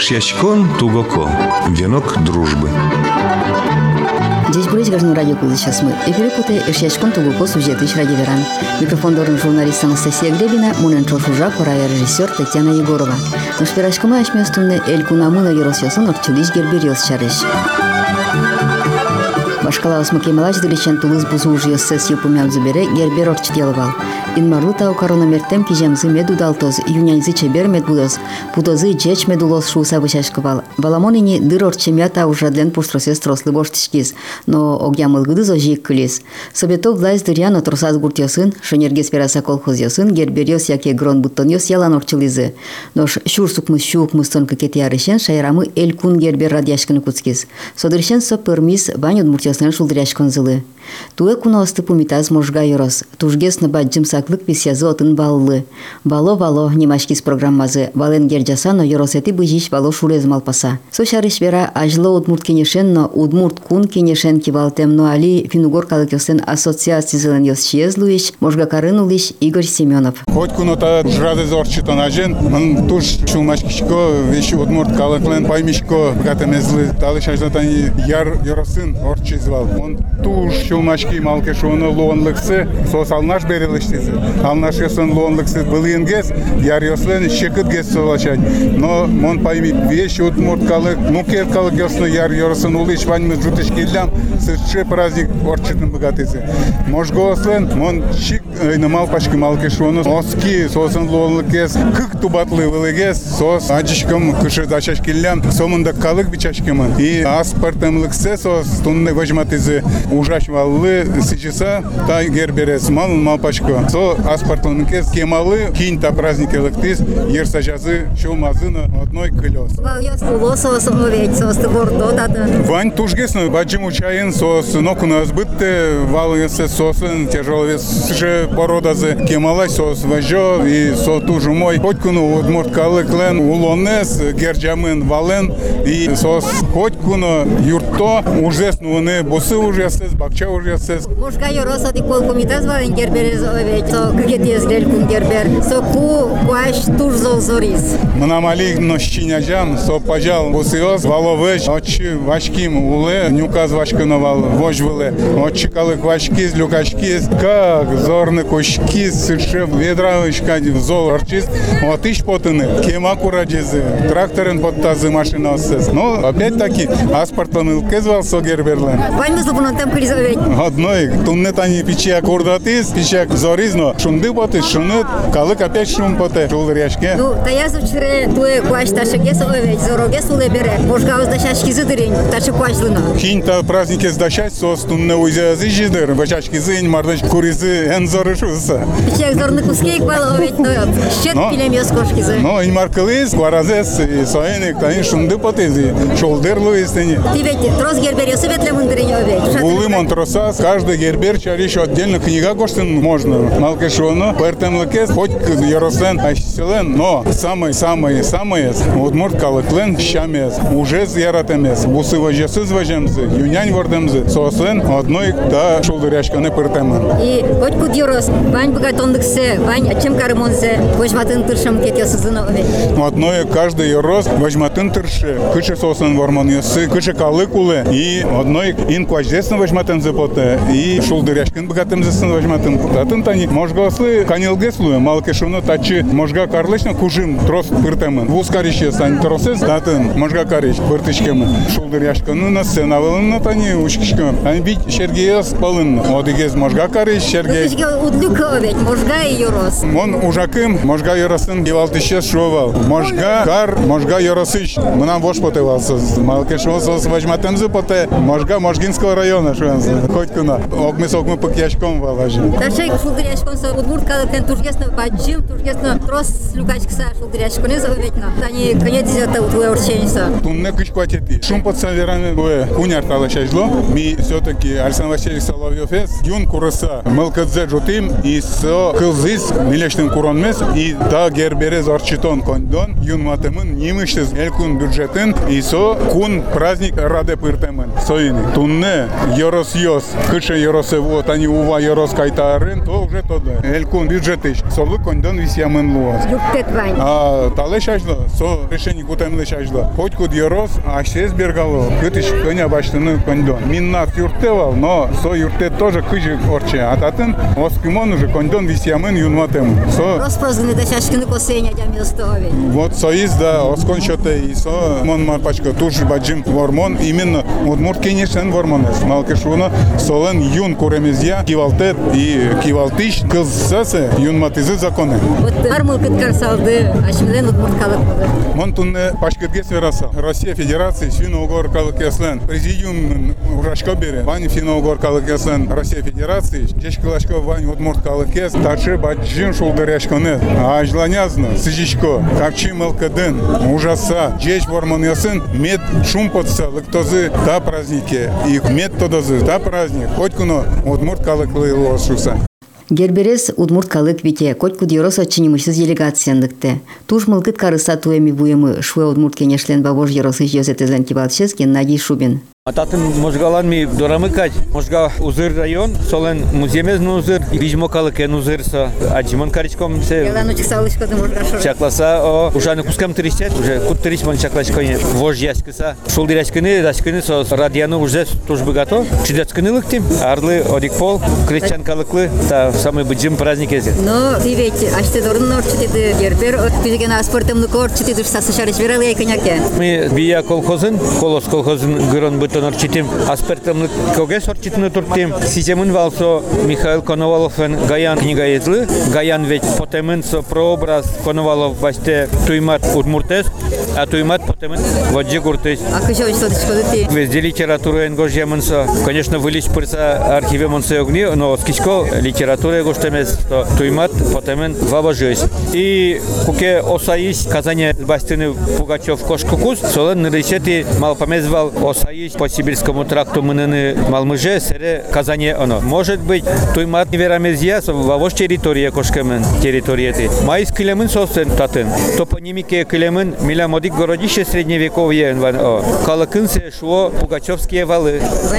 Ишьячкон Тугоко. Венок дружбы. Здесь будет граждан радио «Кузы сейчас мы». Эфире путе Ишьячкон Тугоко сюжеты из радио Веран. Микрофон дорн журналист Анастасия Гребина, мунен чорфужа, пора режиссер Татьяна Егорова. Но шпирашкама ашместунне Элькунамуна Еросьосон орчулиш герберилс чарыш. Башкалаус Макемалач диличен Тулыз бузужье сессию помямзубере гербер орчтеловал. Инмарлута у коронамертем кижемзы медудалтоз, юнянзы чебер медбудоз, пудозы джеч медулоз шуса вышашковал. Баламонини дыр орчемята ужадлен пуштросес трослы боштичкиз, но огьямылгыды зожик кылис. Собеток власть дырян отросаз гуртёсын, шенергес пераса колхозёсын, герберёс яке грон буттонёс ялан орчылызы. Нош шурсукмыз шуукмыз тонкы кетиярышен шайрамы элькун гербер радяшкыны куцкиз. Содыршен со пермис банют муртёсын шулдыряшкон зылы. Туэ куноосты пумитаз можга йорос, тужгес на баджим саклык писязы отын баллы. Бало немашкиз программазы, бален герджасано йоросети быжиш бало шулез малпаса. Сошарыш вера ажлы удмурт кенешен, но удмурт кун кенешен кивалтем, но али финугор калыкёсен ассоциации зелен йосчезлуиш, можга карынулиш Игорь Семенов. Хоть кунота жрады зорчитон ажен, ман туш шулмашкишко, вещи удмурт калыклен паймишко, гатемезлы, талыш ажлатани яр йоросын орчизвал. Он туш шулмашки малкешоны луонлыксы, сос алнаш берилиштизи. Алнаш ясын луонлыксы былынгес, яр йослен шекыт гес солачать. Но мон поймит, вещи удмурт калык, мукер калык йосны яр йоросын улиш ваньмыз жутыш киллям, сырче праздник орчитын богатызи. Можгослен, мон чик намал пашки малкешоны, оски сосын луонлыкес, кык тубатлы вылыгес, сос аджишкам кышы зачаш киллям, сомында калык бичашкемын. И аспартемлыксе сос тунны вожматызи ужаш валлы сичиса та герберес мал пашко. Со аспартемлыкес кемалы кинта праздники лыктис, ерсажазы шулмазына одной колес. Вань тужгесны баджим учаен сос нокуна сбытте валысе сосын тяжеловес же породазы кемалай сос важо и со тужу мой хотькуну удмурт калыклен улонес герджамын вален и сос хотькуну юрто ужесну не босы ужесес бакча ужесес. Можга йороса ди кол комитет вален герберез овеч со кгетес гелькун гербер со куаш тужзол зорис. Мнамали нощиняжам со пажал босиос валовеч очи вашким уле нюказ вашкановал вожвыле очи калык вашкиз люкашкиз как зорны кошкиз сыршев ведравышка зол орчиз отыш потыны кема кураджезы тракторын подтазы машинасыз. Но опять-таки аспартон илкезвал со герберлен. Вань зубунон там кризовеч. Одной туннет они пичак курдатиз пичак зоризно шунды поты шунет калык опять шум поте шулдыряшке. Ну таяз учре туе куаш ташагес овеч зорогес улебере можга уздашашки зыдырень ташы куашлына. Кинта праздники сдачать сос тунне уйзязы жидыр вачашки зынь мардыш куризы эн зорышуса. Пичак зорны кускейк бал овеч но щет пилем ёс кошкизы. Но ин маркалыз кваразес и соенек тайн шунды потези шулдырлу истени. Ты ведь трос гербер светле мундырень овеч. Улымон тросас каждый гербер чариш отдельно книга коштын можно. Малкешоно пертемлекес хоть ярослен айселен, но самые удмурт калыклен щамес уже яратемес. Бусы вожесыз вожемзы, юнянь вордемзы, сослен одной да шулдыряшканы пертемен. И хоть куд ярос, вань богатондыксе, вань чем карымонсе, вожматын тыршам кетесызына овеч. Одной каждый ярос вожматын тырше, кышы сослен вормон ясы, кышы калыкулы и одной ин кваждесно вожматын зепоте и шулдыряшкын богатемзысын вожматын путатын тани можгаслы канилгеслу малкешуно тачы можга карлышна кужим трос пертемен. Вускарище сань тросес датын можга кариш пертышкемен. Шулдыряшканы на сценавылын тани ушкишкем. Ани бит Сергеёс палын. Одигез можга кариш Сергей. Ушкишке удлюк овеч, можга и ярос. Мон ужакым можга яросын гевалтышес шовал. Можга кар можга яросыш. Мынам вош потевалсыз. Малкешосос вожматемзы поте. Можга Можгинского района шуэнзы. Хоть куна. Огмы пакьяшком валажи. Ташай шулдыряшкон со удмурт калыклен тургесно баджим, тургесно трос люкачкса шулдыряшконы заветно. Тани конец это твое урченица. Тунне кышкватети. Шум под саверами буэ куняр талашажло. Ми все-таки Александр Васильевич Соловьев юн кураса мылкадзе жутим и со кылзис милештин куронмес и да герберез орчитон кондон юн матемын нимыштыз элкун бюджетин и со кун праздник раде пыртемын. Висямын соины. Тунне Йорос Йос, кыша Йоросе вот они ува Йорос кайтарын, то уже тогда. Элькун бюджетыш, солы кондон Висямын луаз. Юктет вань. А талеш ажла, со решение кутемлеш ажла. Хоть куд Йорос, а шез бергало, кытыш коня баштыны кондон. Миннат юртевал, но со юртет тоже кыжи орче. А татын оскимон уже кондон Висямын юнматем. Со Распрозганы да шашкины косеня дям юстове. вот соиз да оскон шоте и со мон марпачка туж баджим вормон именно удмурт конечно вормонес. Малкешуна солен юн куремезья кивалтет и кивалтиш кылсасы юн матизы законы. Вот армыл кыткар салды, ашмилен удмурт калык болды. Мон тунне пашкетге свераса. Россия Федерации финно-угор калык яслен. Президиум урашка бере. Вань финно-угор калык яслен Россия Федерации. Жешкалашка вань удмурт калык яс. Тарше баджим шулдаряшконе. Ажланязна сыжишко. Капчи мелкаден. Ужаса. Жеш вормон ясын. Мед шумпотса лыктозы та праздники. И мед тодозы та праздник. Хоть куно удмурт калык лошуса. Герберес удмурт калык вите, коть куд Йорос отчинимышсыз делегацияндыкты. Туж мылкыт карыса туэми буемы шуэ удмурт кенешлен бабож Йоросы жезетезлен кибалчез Геннадий Шубин. Ататын можгалан ми дорамыкать, можга узыр район, солен муземезн узыр, вижмо калыкен узырса, аджимон каричком се. Яланучик салышкады можга шор. Чакласа, ужаны кускам тырistет, уже кут тыричмон чаклашконе, вож яскыса. Шулдиряшкыны, дашкыны со радиану уже тужбы готов. Чидяцкыны лыктим, арлы, одикпол, крестьян калыклы, та самый быджим праздник ези. Но ты ведь, аж ты дорн норчитиды гербер, күзеген аспортымны корчитиды сасы шарыш верал яй коньяке. Мы бия колхозын, колос колхозын гырон бытонор читим, аспертымны когес орчитны туртим. Сиземын валсо Михаил Коноваловен Гаян книга езлы, Гаян ведь потемын со прообраз Коновалов басте туймат удмуртес, а туймат потемын воджи гуртес. А кыжо что ты? Везде литература энгожемынса, конечно, вылез пырса архиве монсе огни, но скичко литература энгоштемес, то туймат потемын ваважусь. И куке осаис Казани бастыны Пугачев кошкукус, солен нырышети малпомезвал осаис по Сибирскому тракту мыныны Малмыже, сере Казани оно. Может быть, туймат неверамезья, вавош территория кошкемен территории. Майс килемын сосен татын. Топонимике килемын милямодик городище средневековье. Калыкын се шуо Пугачевские валы.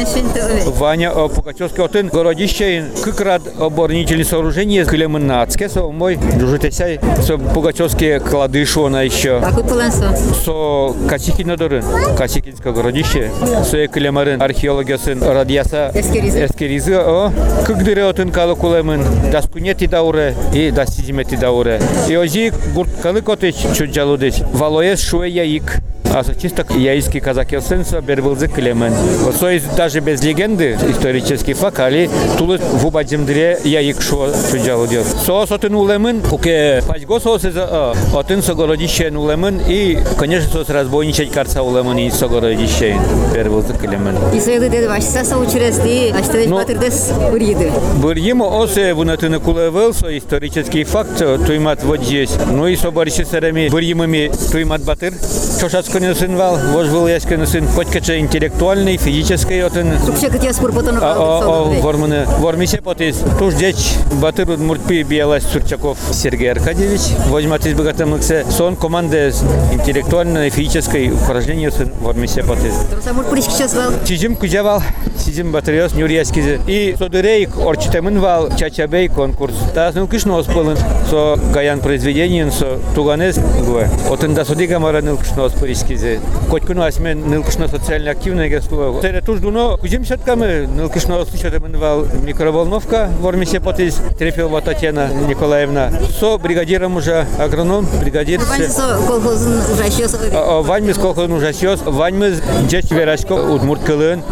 Ваня Пугачевский отын городище кыкрад оборонительные сооружения килемын на ацкесо мой дружитесяй со Пугачевские клады шуо на еще. А кут полансо? Со Касикин дорын, Касикинское городище. Со килемарын археологиясын радиаса эскеризы. Кыгдыре отын калы кулемын даскунети дауре и дастизимети дауре. И ози гурт калык отыч чуджалудыч. Валоес шуэ яик. А чисто яйский казак елсенсо бербылзы клемен. Вот то есть даже без легенды исторический факт, али тулы в убадзимдре яик шо чуджалу дел. Соос отын улемын, куке пачго соос отын согородище улемын и, конечно, соос разбойничать карца улемын и согородище бербылзы клемен. И соеды деды вашиса соучрезди, а что ведь батырдес бурьиды. Бурьимо осе вунатыны кулевел, со исторический факт, туймат вот здесь. Ну и со борисесерами бурьимами туймат батыр, чошацкой сын вал, вож был яскин сын, хоть интеллектуальный, физический отын. Вообще как я спор потом ворманы, вормисе потис. Туж деч батыр удмуртпи биялась Сурчаков Сергей Аркадьевич. Возьматись богатым лыксе. Сон команды интеллектуальной, физической упражнения сын вормисе потис. Самур прички сейчас вал. Чижим кузявал, сизим батыриос нюрьяскизе. И содырейк орчитемын вал, чачабей конкурс. Та нылкышно оспылын, со гаян произведениен, со туганез гуэ. Отын да судига мара нылкышно оспыриски. Котькуну асмен нылкышно социально активное государство. Тере туждуно кузим сетками нылкышно услышатым вал микроволновка в Ормисе потис Трефилова Татьяна Николаевна. Со бригадиром уже агроном, бригадир. Колхозын ужасёс. Ваньмыз колхозын ужасёс. Ваньмыз джеч верашко удмурт кылын.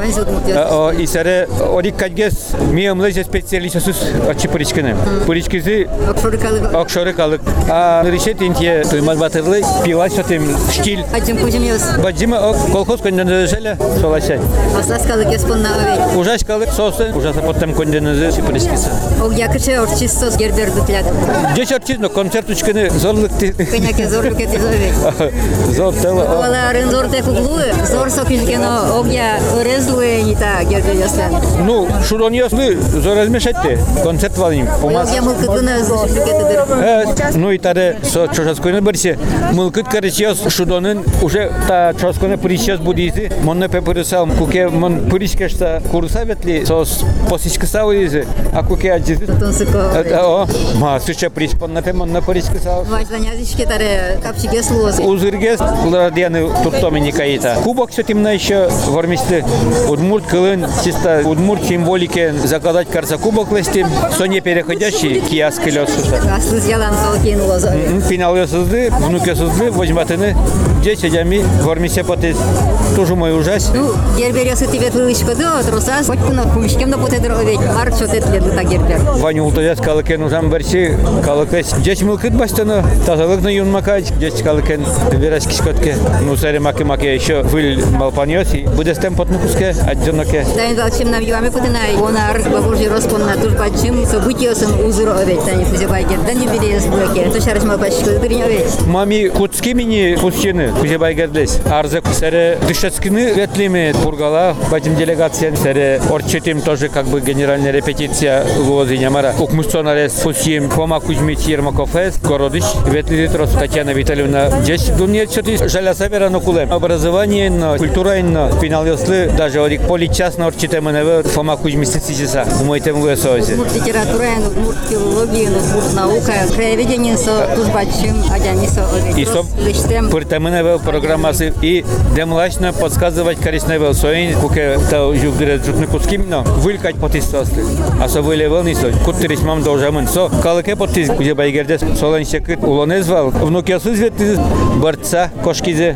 И саре орик кадгес миомлезе специалистосыз очипыричкины. Пыричкизы окшоры калык. А решет интье туймат батырлы пилась отым штиль. Баджима колхоз конденезеле соласай. Аслас калык еспон на овей. Ужас калык сосы, ужаса потом конденезе сиприскиса. Ог якырче орчис сос гербер дутлят. Деш орчис, но концертучканы зорлыкты. Коняке зорлук эти зовей. Зор тело. Оларын зор тек углуы, зор сокишкено огя резлуе не та гербер яслен. Ну, шурон яслы зор размешатте. Концерт валим. Огя мылкыдына злушук эти дыр. Ну и таре со чошаскойны барсе. Мылкыд карычяс шудонын уже та чосконе присчас будизи, монне пеперисал, куке мон прискешта курсаветли, сос посискасауизи, а куке аджизи. О, ма суча приспонна пе монне прискасау. Важданязички таре капчиге слоз. Узыргес ладьяны туртомини каита. Кубок все темно еще в армисте. Удмурт кылын, чисто удмурт символике заказать карса кубок листим, соне переходящий киаск лёсуса. Аслыз ялан салкин лоза. Финал ёсызды, внуки сызды, возьматыны, дети дями в армисте потез. Тоже мой ужас. Ну, герберёсы тебе тылышко да, трусас, хоть куна кумшкем да потедро ведь марк чотет леду та гербер. Ваню ултаяс калыкен ужам берси, калыкес. Десь мылкыт бастана, тазалык на юнмакач, десь калыкен вераски скотке. Ну, саре маки еще выль малпаньоси, будет стем потнукуске, отдёноке. Да им дал нам юами потенай, онар бабужи роспон на туж бачим, событиёсын узро ведь тани кузебайгер, да не берес блоке, то шарыш малпачко дырнё ведь. Мами кутски мини пустины кузебайгердес. Арзак саре дышецкины ветлими бургала, батим делегация саре орчетим тоже как бы генеральная репетиция лозиня мара. Укмустонарес пустим Фома Кузьмич Ермаков-эс, Городыч, ветлитрос Татьяна Витальевна. Здесь думаю, что ты жаля савера на кулем. Образование, культура, финал ясли, даже орик политчас на орчите меневе Фома Кузьмич Сицисиса. Умойтем гуэсозе. Литература, филология, наука, краеведение со тужбачим, адянисо. И со пыртаменеве программасы и демлачно подсказывать корыстневе соин, куке та югдре жутникуским, но вылькать потистосты. А со вылевел нисо, куттерис мам должамен. Со калыке потис, где байгердес солонщекыт улонезвал. Внуки осузвет борца кошкизе.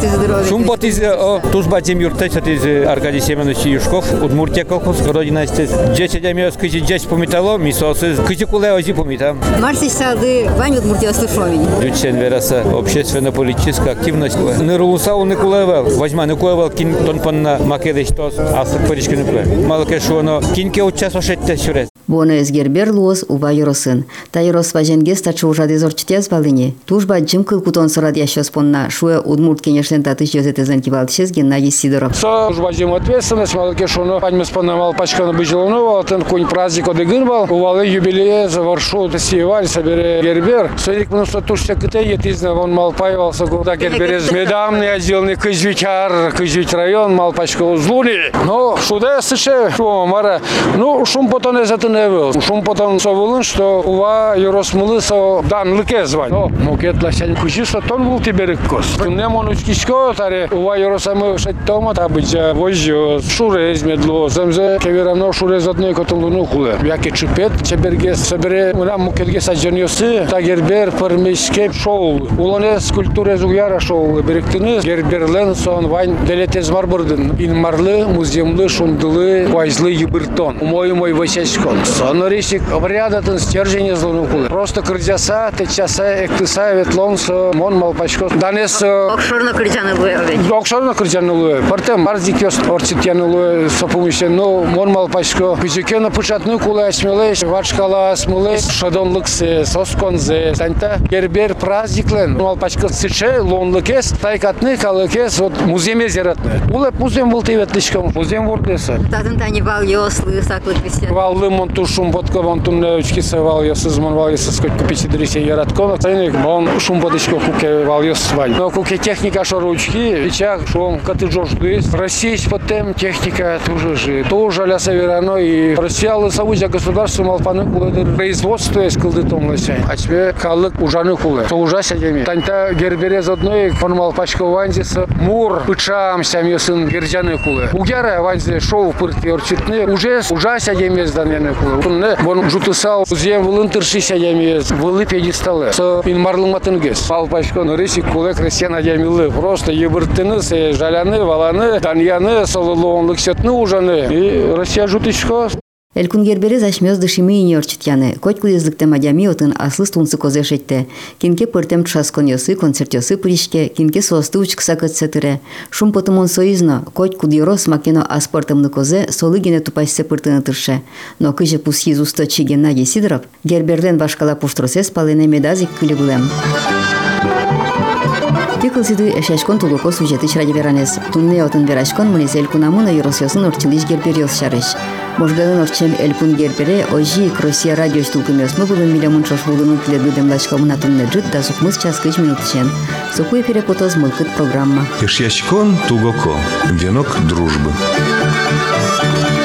Шум потизе, о тужбачим юртеч из Аркадий Семенович Юшков, Удмуртия колхоз, родина стез. Джеси демиос кызи джес помитало, мисосыз кызи куле ози помитам. Марсич сады Вань Удмуртия слышовень. Дючен вераса общественно-политическая активность. Нырулусау не кулевел, возьма не кулевел кин тонпанна македеш тос, а сырпырички не куле. Малке шуоно кинке учас ошетте сюрет. Боно эсгербер луос ува юросын. Та юрос важенге стачу ужады зорчтез балыне. Тужба джим кылкутон сырад ящос понна. Шуэ Удмурт кенешлен татыш ёзетезен кивалтышез Геннадий Сидоров. Со тужба джим ответственность, малке шуоно паньмес понна малпачканы быжилону, тен кунь праздник одыгырбал, увалы юбилее заворшу тесиеваль, собере гербер. Соник мнуса тушся кыте етизна, вон малпаевался, куда герберез медамный отделный Кызвичар, Кызвич район, малпачка узлуни. Но шуде сыше, шуо мара, ну шум потон эзатын эвел. Шум потон совылын, что ува юросмылы со данлыке звань. Но мукет ласянь кучи, что тон был тиберик кос. Тунем он учкишко, таре ува юросамы шеттома, табыча возьё, шурез медло, земзе кеверано шурез одной котолуну хуле. Яки чупет, чебергес, собере, унам мукетге саджаньосы, та гербер пармешке шоу. Улонес культуре зуяра шоу, беректini герберлен сон вань делетез марбурдын. Инмарлы, муземлы, шумдылы, вайзлы юбыртон. Мой васяшкон. Сонорисик обрядатын стержень злону хуле. Просто крыдяса, течаса, эктыса, ветлон со мон малпачко. Данес Окшорно критяны луэ. Окшорно критяны луэ. Партем марзикёс орчитяны луэ сопумище. Но мон малпачко. Пизюкена пучатны куле асмелеш, вачкала асмелеш, шадонлыксы, сосконзе. Танта гербер праздниклен. Малпачко сыче, лонлыкес, тайкатны, калыкес, вот муземе зератны. Улеп музем был тыветлишком, музем вордеса. Татын тани вал ёслы, саклык висят. Валлы монтушум, водка вонтум неучкиса вал ёсыз, мон вал ёсыз, сколько пичидрисе яраткона. Тайник, мон шум водичко куке вал ёсыз вань. Но куке техника шаручки, ичак, шум каты жождыс. Российсь потом техника тоже же. Тоже ля северано и Россия лысовудя государство малпаны кулы производство есть кылдытом лысяй. А тебе калык ужаны кулы. То ужася деми. Таньта герберез одной формал пачко ванзиса мур пычам сямьёсын герджаны кулы. Угяра ванзи шоу пыртки орчитны уже ужася демез даняны кулы. Тунне вон жутысал зем вылынтыршися демез вылы пьедесталы. Со инмарлыматынгес. Мал пачко рысик кулы крестьяна демилы. Просто ебыртыны, жаляны, валаны, даньяны, солылуонлык сетны ужаны. И Россия жутычко. Элькун герберез ашмёз дышимы ине орчитяны. Коть кудезлыкте мадями отын аслыс тунсы козешетте. Кинке пыртем тшаскон ёсы, концерт ёсы пыришке, кинке соосты учкса кытсетыре. Шум потымон соизно, коть кудьорос макено аспортымны козе, солы гене тупайсе пыртыны тырше. Но кыже пусхиз усточи Геннадий Сидоров, герберлен башкала пуштросес палене медазик кылигулем. Тикылсиды эшешкон тугоко сюжеты чради веранес. Тунне отын верашкон мынезель кунамуна юросёсын орчилиш гербер ёс шарыш. Можгалын орчем эльпун гербере ожи Россия радио штулкымесмы булын милямун шошбулынын тилеби демлачка мунатын неджит да сукмыз час 5 минут чен. Сукуй перепотоз мылкыт программа. Ишьячкон тугоко. Венок дружбы.